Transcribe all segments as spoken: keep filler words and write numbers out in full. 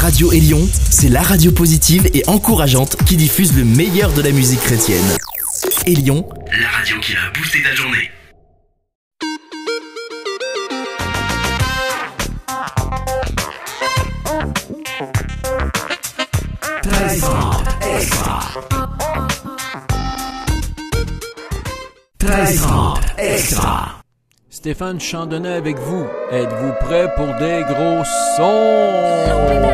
Radio Élion, c'est la radio positive et encourageante qui diffuse le meilleur de la musique chrétienne. Élion, la radio qui a boosté ta journée. treize trente extra. treize trente extra. Stéphane Chandonnet avec vous. Êtes-vous prêts pour des gros sons?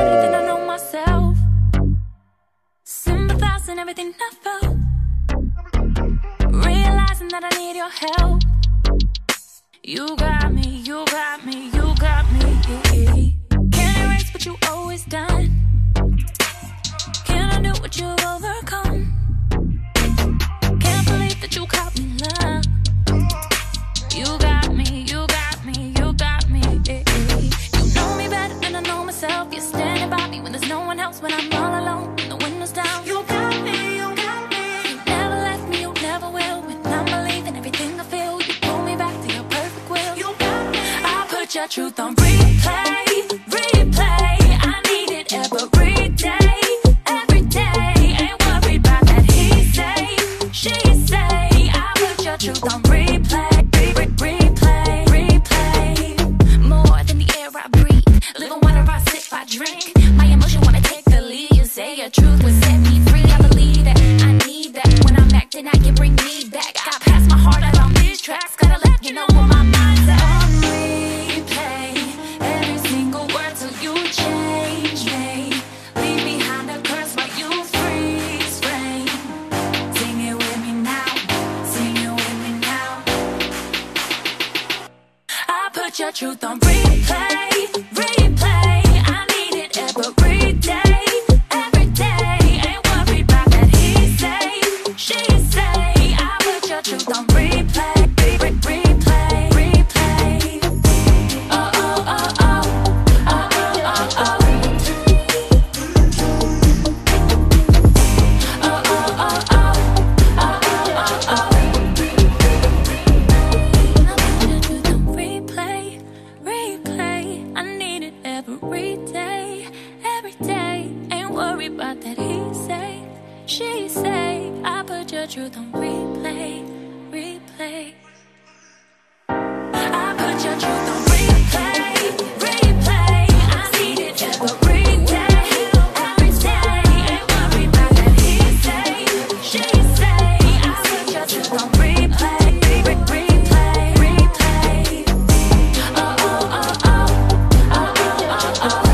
You got me, you got me, you got me. Can't erase what you always done. Can I do what you've overcome? Can't believe that you caught me love. You got me, you got me, you got me. You know me better than I know myself. You're standing by me when there's no one else. When I'm all alone, when the window's down. You got me, you got me. You never left me, you never will. When I'm believing everything I feel, you pull me back to your perfect will. You got me. I put your truth on replay, replay. I need it every day. Truth on replay, re- replay, replay. More than the air I breathe, living water I sip, I drink. My emotion wanna take the lead. You say your truth will set me free. I believe that, I need that. When I'm acting out, you bring me back. I pass my heart out on these tracks. Gotta let you know where my mind's at. On replay, every single word till you change me. Leave behind a curse while you freeze frame. Sing it with me now, sing it with me now. I put your truth on replay, replay. I need it every day, every day. Ain't worried about that he say, she say. I put your truth on replay, re- replay, replay. Oh oh oh oh, oh oh oh oh. Oh oh oh oh, oh oh oh oh. Replay, replay. I need it every day, every day. Ain't worried about that he say, she say. I put your truth on replay, replay. I put your truth on replay, replay. I need it every day, every day. Ain't worried about that he say, she say. I put your truth on replay, re- replay, replay. Oh oh oh oh, oh oh oh oh.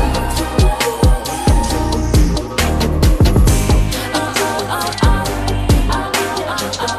Oh oh oh oh, oh oh oh oh.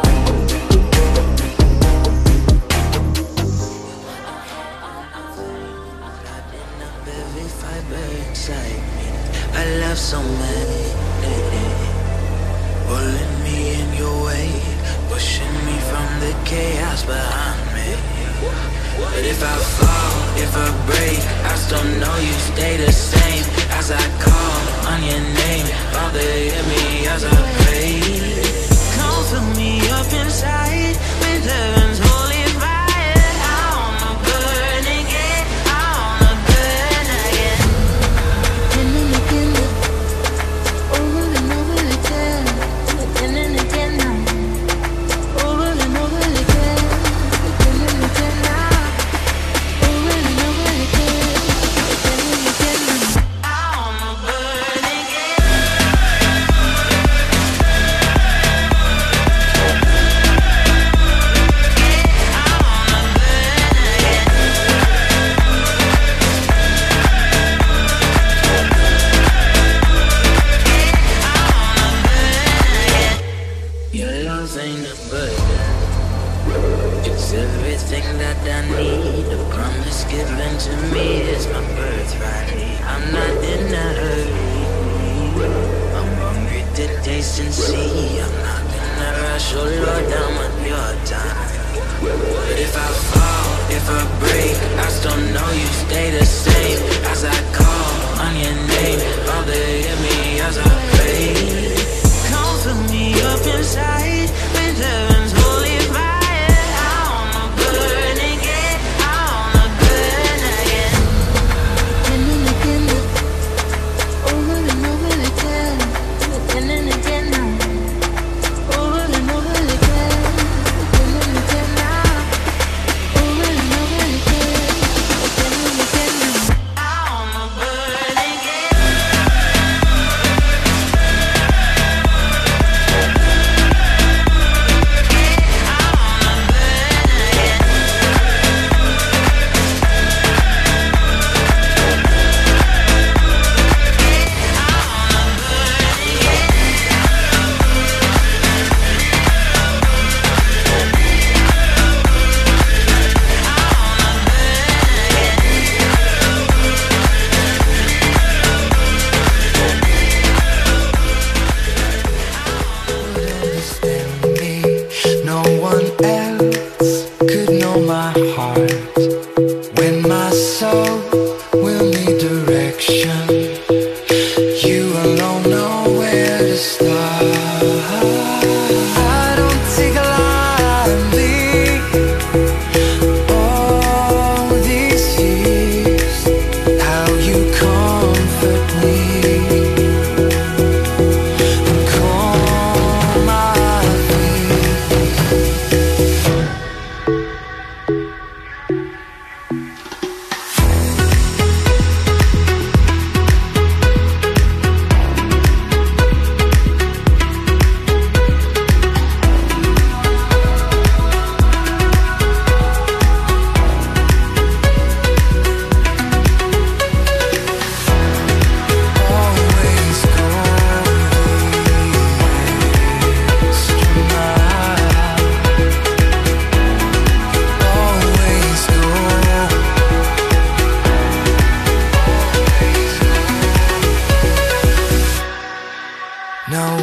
Every fiber inside me, I love so many, eh, eh, pulling me in your way, pushing me from the chaos behind me. But if I fall, if I break, I still know you stay the same. As I call on your name, Father, hear me as I pray. Come fill me up inside with heaven's holy fire. I wanna burn again, I wanna burn again. Again and again, over and over again, again and again now, over and over again, again and again now, over and over again, again and again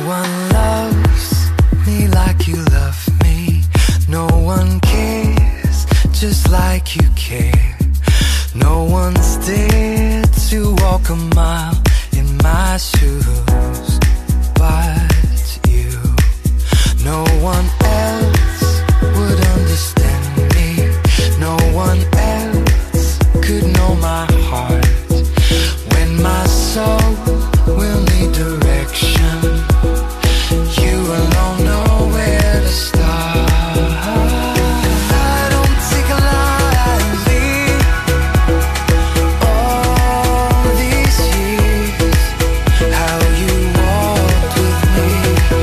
one loves me like you love me. No one cares just like you care. No one's dared to walk a mile in my shoes but you. No one else would understand me. No one else could know my heart. When my soul will need direction, you alone know where to start. I don't take a lightly all these years, how you walked with me,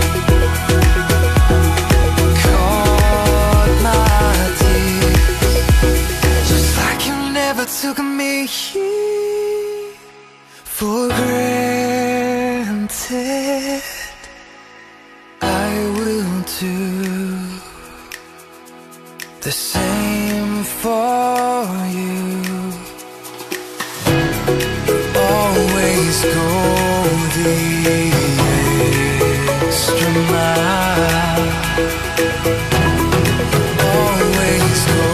caught my tears, just like you never took me for granted. I will do the same for you. Always go the extra mile. Always go.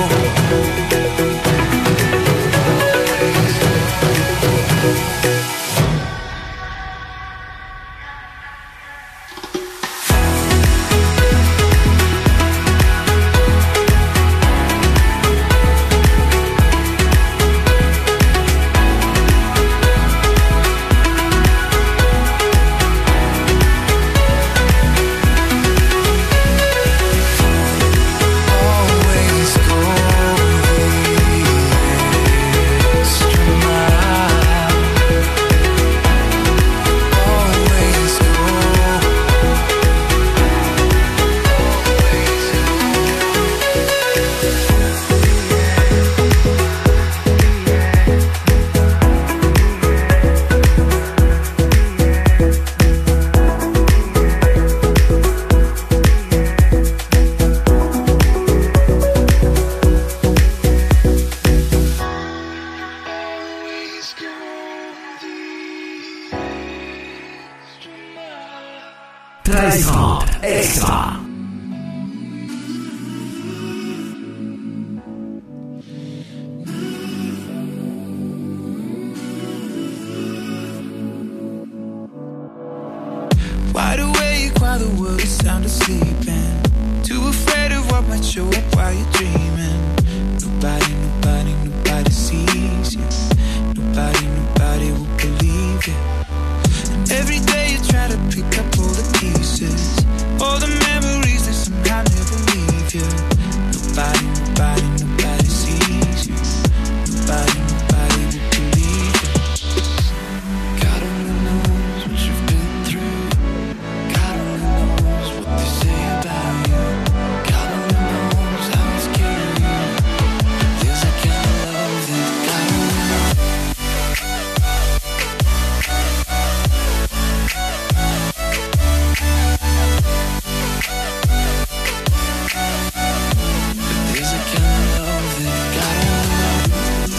treize trente extra. Wide awake while the world is sound asleep, and too afraid of what might show up while you're dreaming. Nobody, nobody, nobody sees you. Nobody, nobody will believe you. And every day you try to pick up all the pieces, all the memories that somehow never leave you. Nobody, nobody, nobody sees you. Nobody, nobody will believe you. God only knows what you've been through. God only knows what they say about you. God only knows how it's killing you. There's a kind of love that God only knows. But there's a kind of love that God only knows.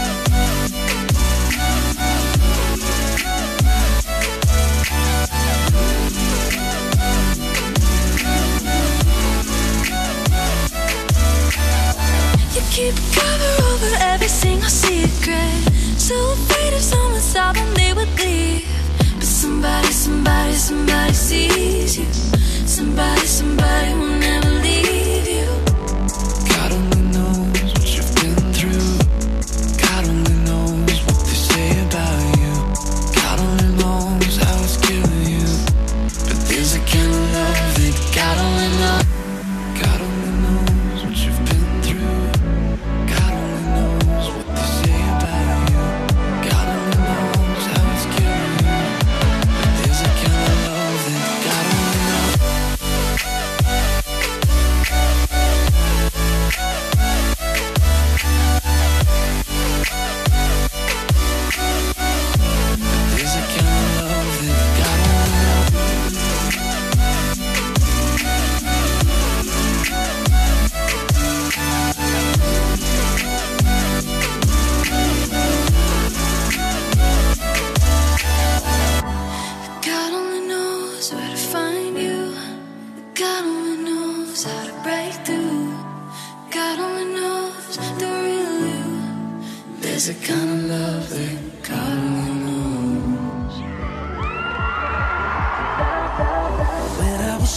You keep cover over every single secret. So afraid if someone saw them they would leave. But somebody, somebody, somebody sees you. Somebody, somebody will never leave you. God only knows what you've been through. God only knows what they say about you. God only knows how it's killing you. But there's a kind of love that God only knows. God only knows what you've been through. God only knows what they say about you. God only knows how it's killing you. But there's a kind of love that God only knows.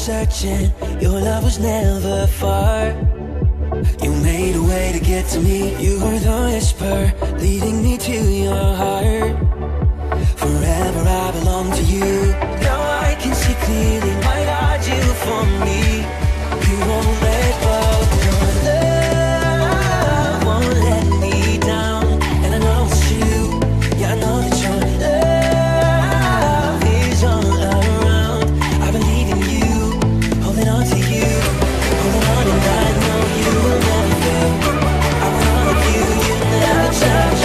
searching, your love was never far. You made a way to get to me. You were the whisper leading me to your heart. Forever I belong to you. Now I can see clearly, my God, you for me. You won't let go. Your love won't let me down. And I know it's true. Yeah, I know that your love is all around. I believe in you, holding on to you, holding on, and I know you will never fail. I want all of you, you never change.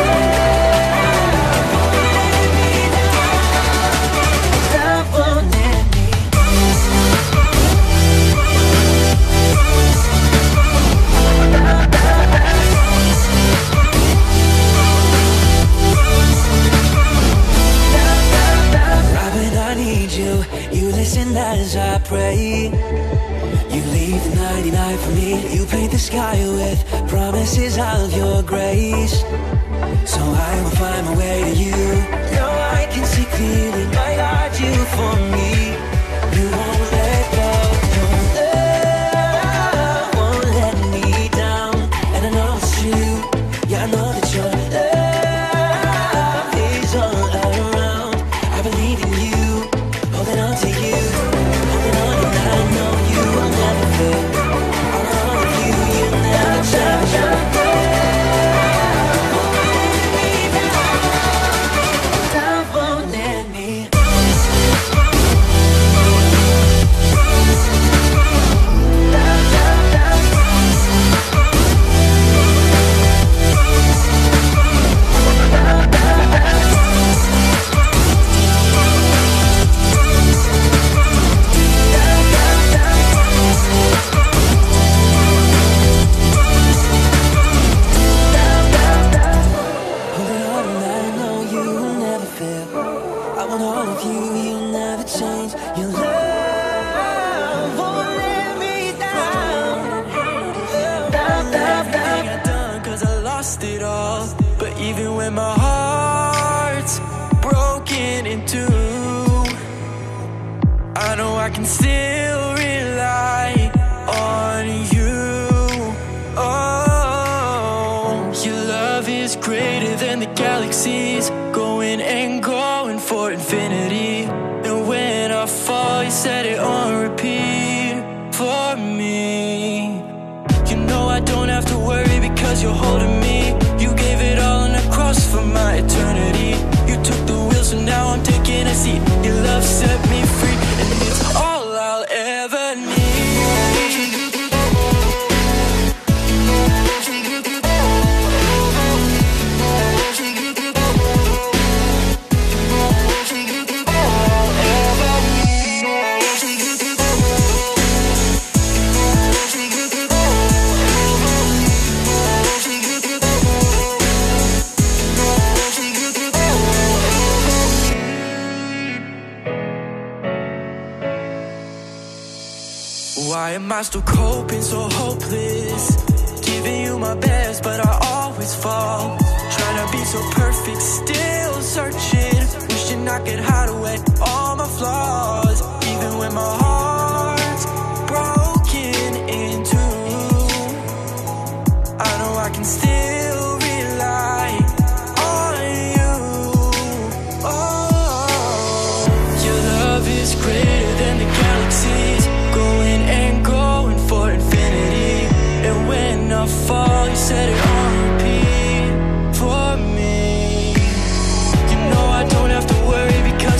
Love won't let me. Robin, I need you. You listen as I pray. You leave the ninety-nine for me. You paint the sky with promises of your grace. So I will find my way to you. Now I can see clearly, my God, you for me. You won't let go. Your love won't let me down. And I know it's true. Yeah, I know that your love is all around. I believe in you, holding on to you, holding on, and I know you will never fail. I want all of you, you never change. Love won't let me. Holding on, and I know you will never fail. I want all of you, you'll never change. Your love won't let me down. Down, down, down. I done cause I lost it all. But even when my heart's broken in two, I know I can still rely on you. Oh, your love is greater than the galaxies, going and going for infinity. And when I fall, you set it on repeat for me. You know I don't have to worry because you're holding me. You gave it all on the cross for my eternity. You took the wheel, so now I'm taking a seat. Your love set me free, and it's all I'll ever need. Why am I still coping so hopeless? Giving you my best, but I always fall. Trying to be so perfect, still searching. Wishing I could hide away all my flaws. Even when my heart's broken in two, I know I can still rely on you. Oh, your love is greater than the galaxies, going and going for infinity. And when I fall, you set it on repeat for me. You know I don't have to worry because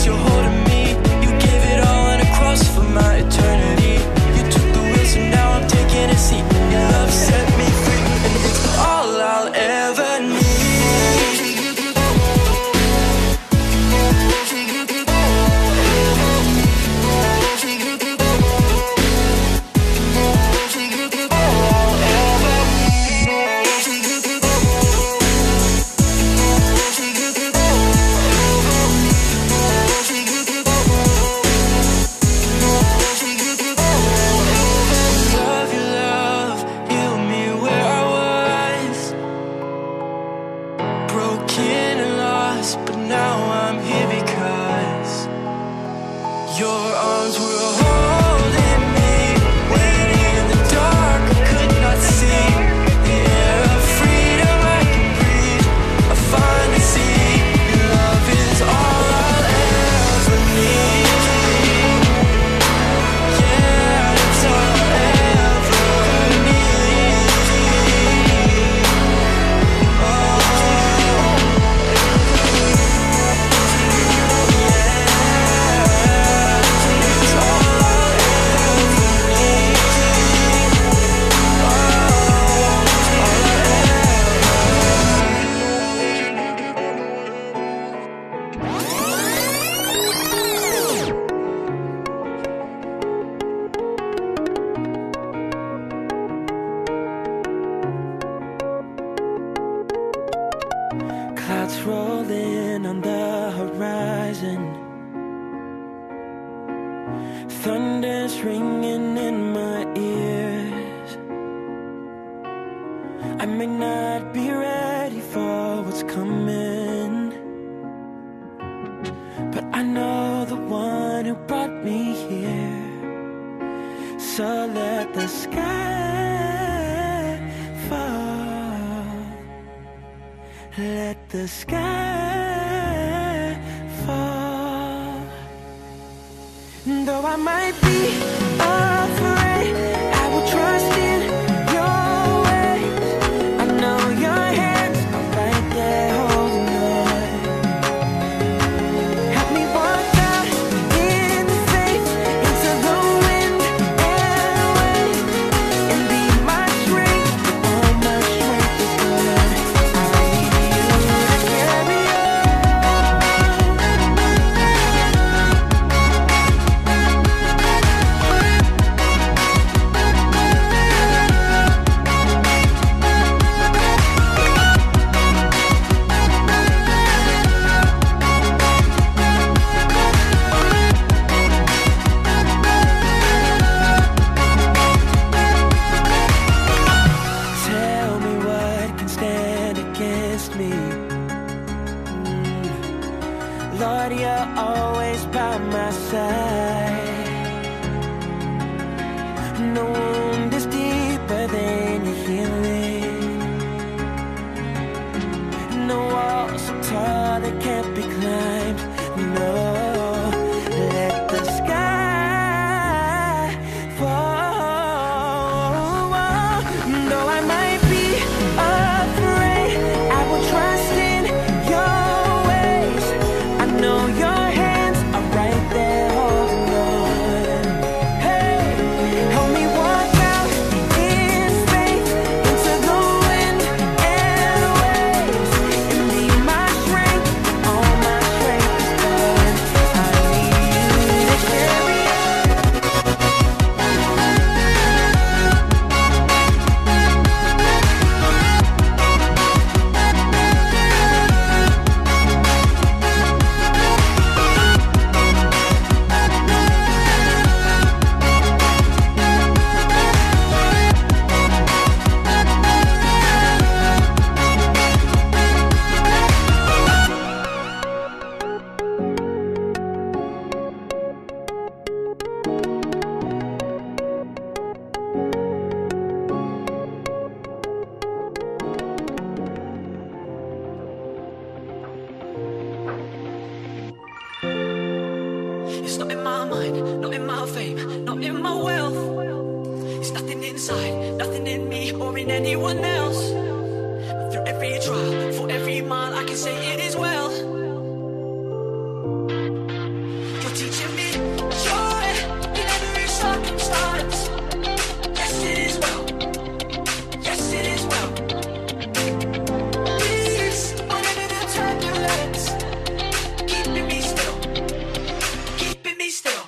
rising. Thunder's ringing in my ears. I may not be ready for what's coming, but I know the one who brought me here. So let the sky fall. Let the sky fall. Though I might be afraid, I will trust in your ways. I know your hands are right there holding on. Help me walk out in faith into the wind and waves, and be my strength when all my strength is gone. I need you to carry Tell me what can stand against me. Mm. Lord, you're always by my side. No wound is deeper than your healing. No wall so tall that can't be climbed. No, let the sky fall. Though I might be afraid, I will trust in your ways. I know your hands are right there holding on. Hey, help me walk out in faith into the wind and waves, and be my strength when all my strength is gone. I need you to carry on. It's not in my mind, not in my fame, not in my wealth. It's nothing inside, nothing in me or in anyone else. But through every trial, for every mile, I can say it is well. You're teaching me joy in every circumstance. Yes, it is well. Yes, it is well. Peace whenever the turbulence, keeping me still. Keeping me still.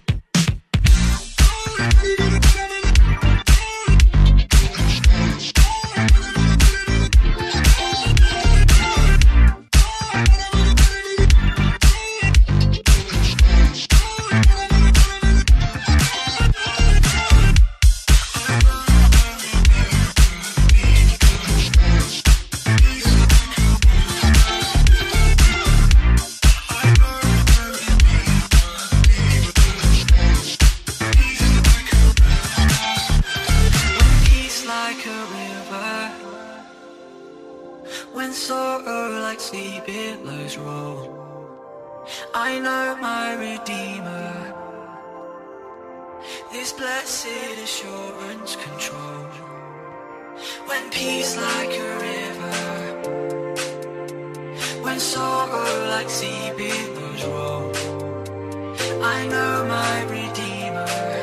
Peace like a river, when sorrow like sea billows roll. I know my Redeemer, this blessed assurance control. When peace like a river, when sorrow like sea billows roll. I know my Redeemer,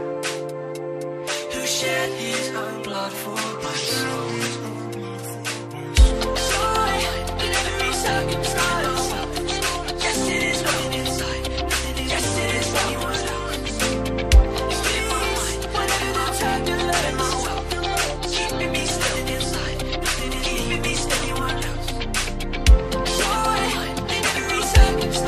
who shed his own blood for my soul. Joy in every circumstance. Yes, it is nothing inside. Yes, it is anyone else. It's in my mind. Whenever the turbulence, keeping me still inside. Keeping me still anyone else. Joy in every circumstance.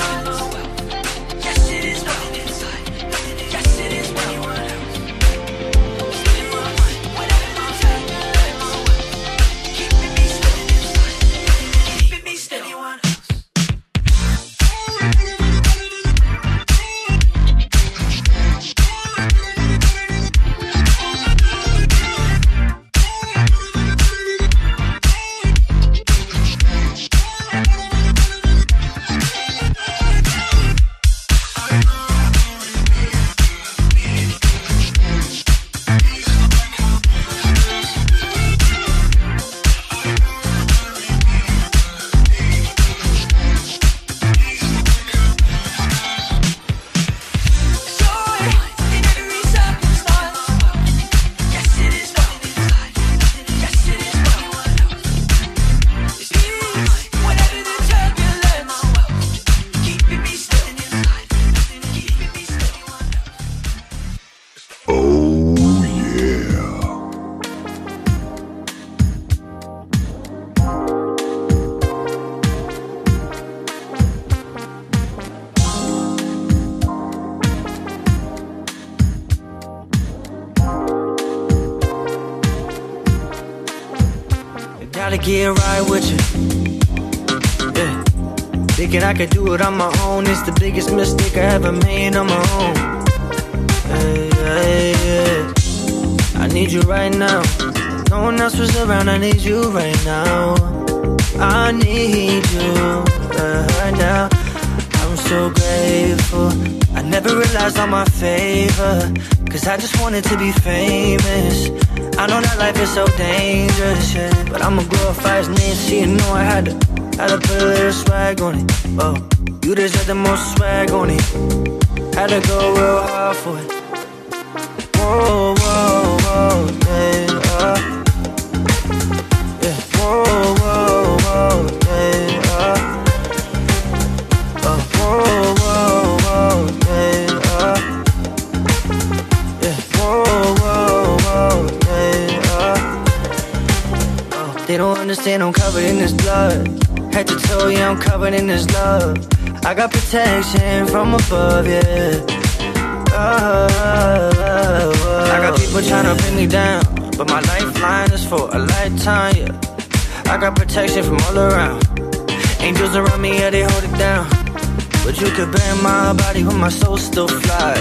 Gotta get right with you. Yeah. Thinking I could do it on my own. It's the biggest mistake I ever made on my own. Hey, hey, yeah. I need you right now. No one else was around. I need you right now. I need you uh, right now. I'm so grateful. I never realized all my favor, cause I just wanted to be famous. I know that life is so dangerous, yeah, but I'ma glorify his name, so you know I had to, had to put a little swag on it. Oh, you deserve the most swag on it. Had to go real hard for it. Whoa, whoa, whoa, yeah, uh, yeah. Whoa, whoa, whoa, yeah, uh, uh, whoa, whoa, whoa, yeah, uh, yeah. Whoa, whoa, whoa, yeah, uh, oh, they don't understand I'm covered in this blood. Head to toe, yeah, I'm covered in this love. I got protection from above, yeah. Oh, oh, oh, I got people trying to bring me down, but my lifeline is for a lifetime, yeah. I got protection from all around. Angels around me, yeah, they hold it down. But you could bend my body, but my soul still fly.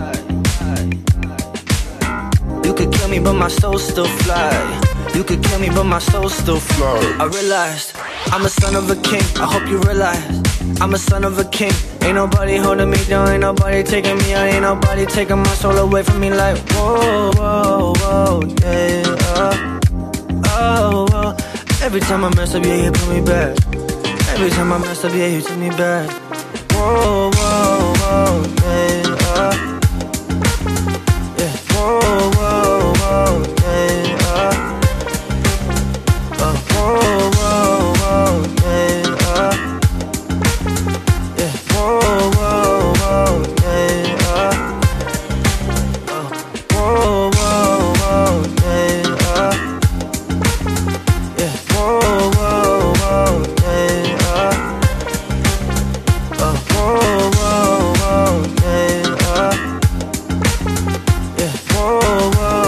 You could kill me, but my soul still fly. You could kill me, but my soul still fly. I realized I'm a son of a king. I hope you realize I'm a son of a king. Ain't nobody holding me down, ain't nobody taking me out, ain't nobody taking my soul away from me. Like whoa, whoa, whoa, yeah, uh, oh, whoa. Every time I mess up, yeah, you put me back. Every time I mess up, yeah, you took me back. Whoa, whoa, whoa, yeah, uh, yeah. Whoa, whoa, whoa, yeah, uh, uh, whoa, whoa, whoa, yeah, uh, yeah. Whoa, whoa, whoa, yeah, uh, uh, whoa, whoa, whoa, yeah, uh, yeah. Whoa, whoa, whoa, yeah, uh, uh, whoa, whoa, whoa, yeah, uh, yeah. Whoa, whoa,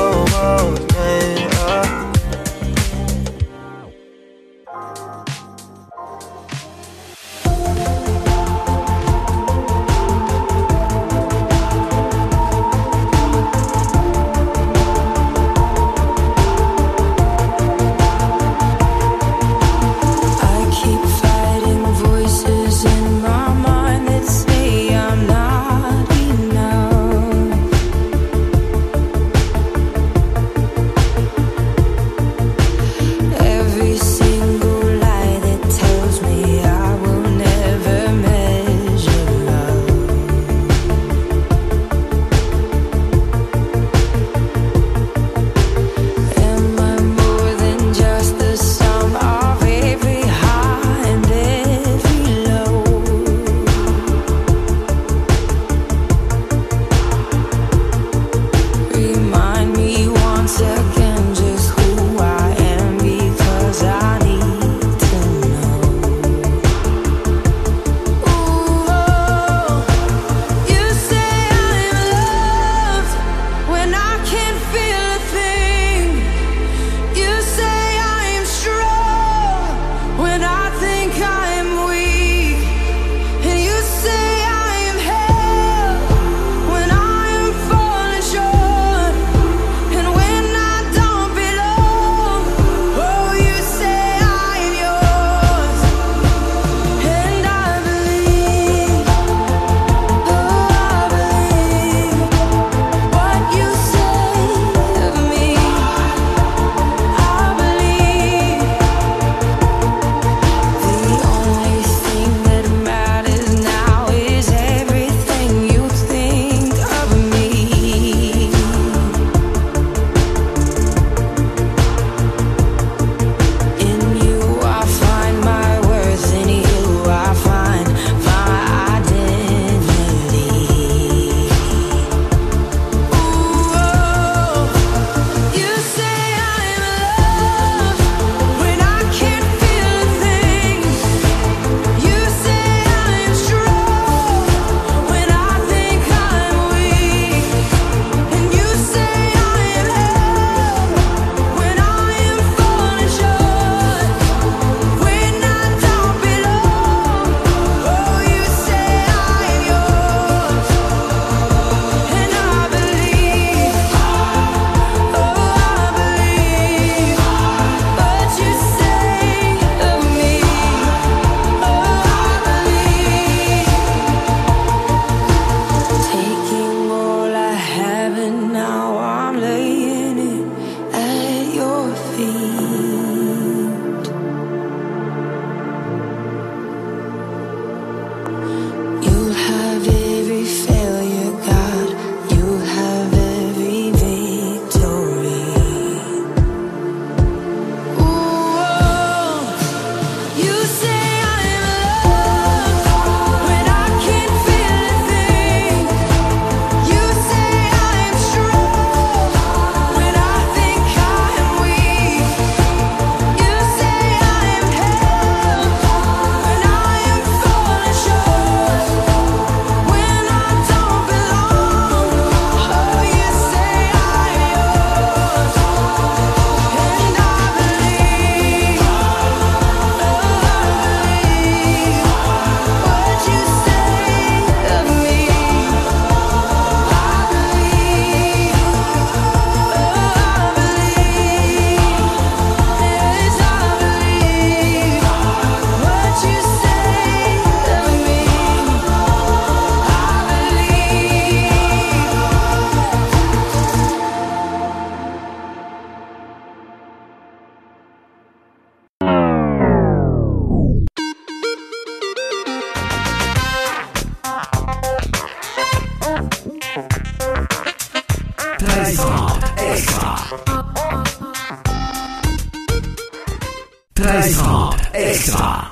treize trente extra. treize trente extra.